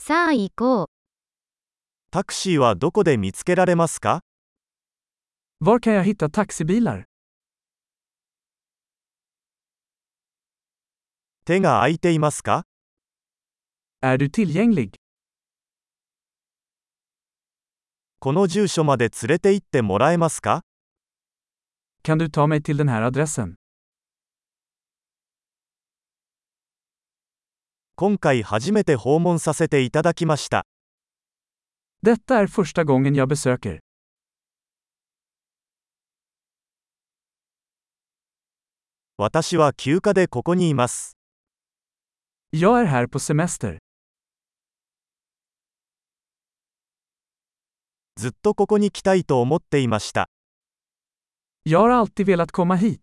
さあ行こう。 タクシーはどこで見つけられますか？ Var kan jag hitta taxibilar? 手が空いていますか？ Är du tillgänglig? この住所まで連れて行ってもらえますか？ Kan du ta mig till den här adressen? 今回初めて訪問させていただきました。 Detta är första gången jag besöker. 私は休暇でここにいます。 Jag är här på semester. ずっとここに来たいと思っていました。 Jag har alltid velat komma hit.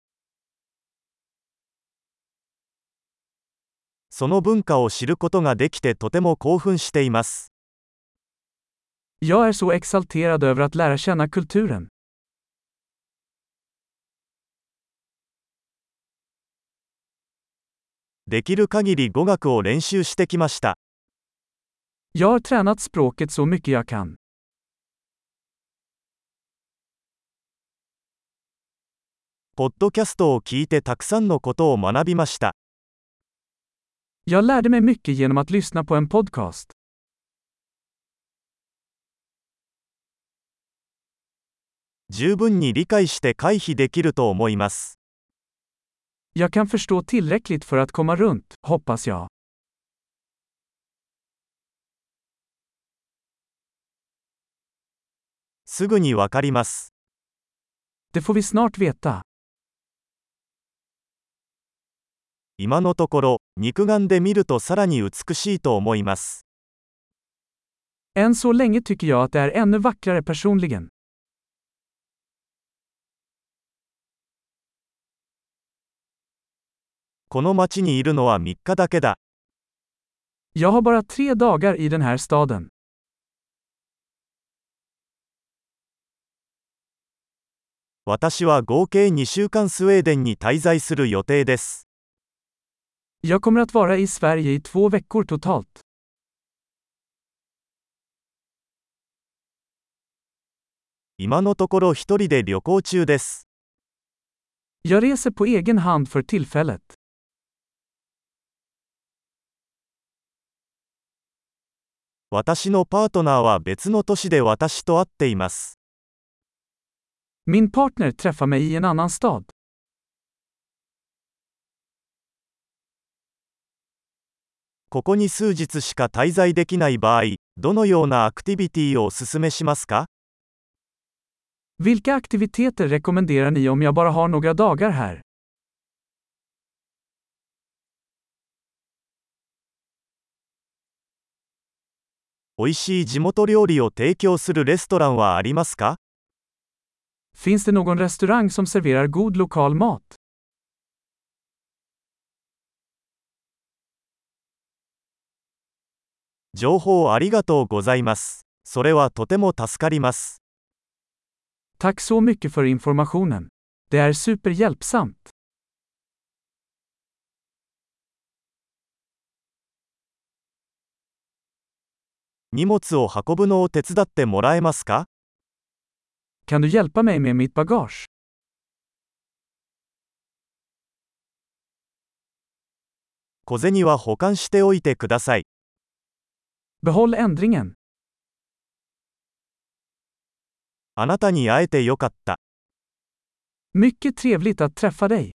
その文化を知ることができてとても興奮しています。 Jag är så exalterad över att lära känna kulturen. できる限り語学を練習してきました。 Jag har tränat språket så mycket jag kan. ポッドキャストを聞いてたくさんのことを学びました。 Jag lärde mig mycket genom att lyssna på en podcast. 十分に理解して回避できると思います。 Jag kan förstå tillräckligt för att komma runt, hoppas jag. すぐにわかります。 Det får vi snart veta. 今のところ、肉眼で見るとさらに美しいと思います。 Än så länge tycker jag att det är ännu vackrare personligen. この町にいるのは3日だけだ。 Jag har bara 3 dagar i den här staden. 私は合計2週間スウェーデンに滞在する予定です。 Jag kommer att vara i Sverige i 2 veckor totalt. 今のところ一人で旅行中です。 Jag reser på egen hand för tillfället. 私のパートナーは別の都市で私と会っています。 Min partner träffar mig i en annan stad. ここに数日しか滞在できない場合、どのようなアクティビティをお勧めしますか？ Vilka aktiviteter rekommenderar ni om jag bara har några dagar här? 美味しい地元料理を提供するレストランはありますか？ Finns det någon restaurang som serverar god lokal mat? 情報ありがとうございます。それはとても助かります。 Tack så mycket för informationen. Det är superhjälpsamt. 荷物を運ぶのを手伝ってもらえますか？ Kan du hjälpa mig med mitt bagage? 小銭は保管しておいてください。 Behåll ändringen. あなたに会えてよかった。 Mycket trevligt att träffa dig.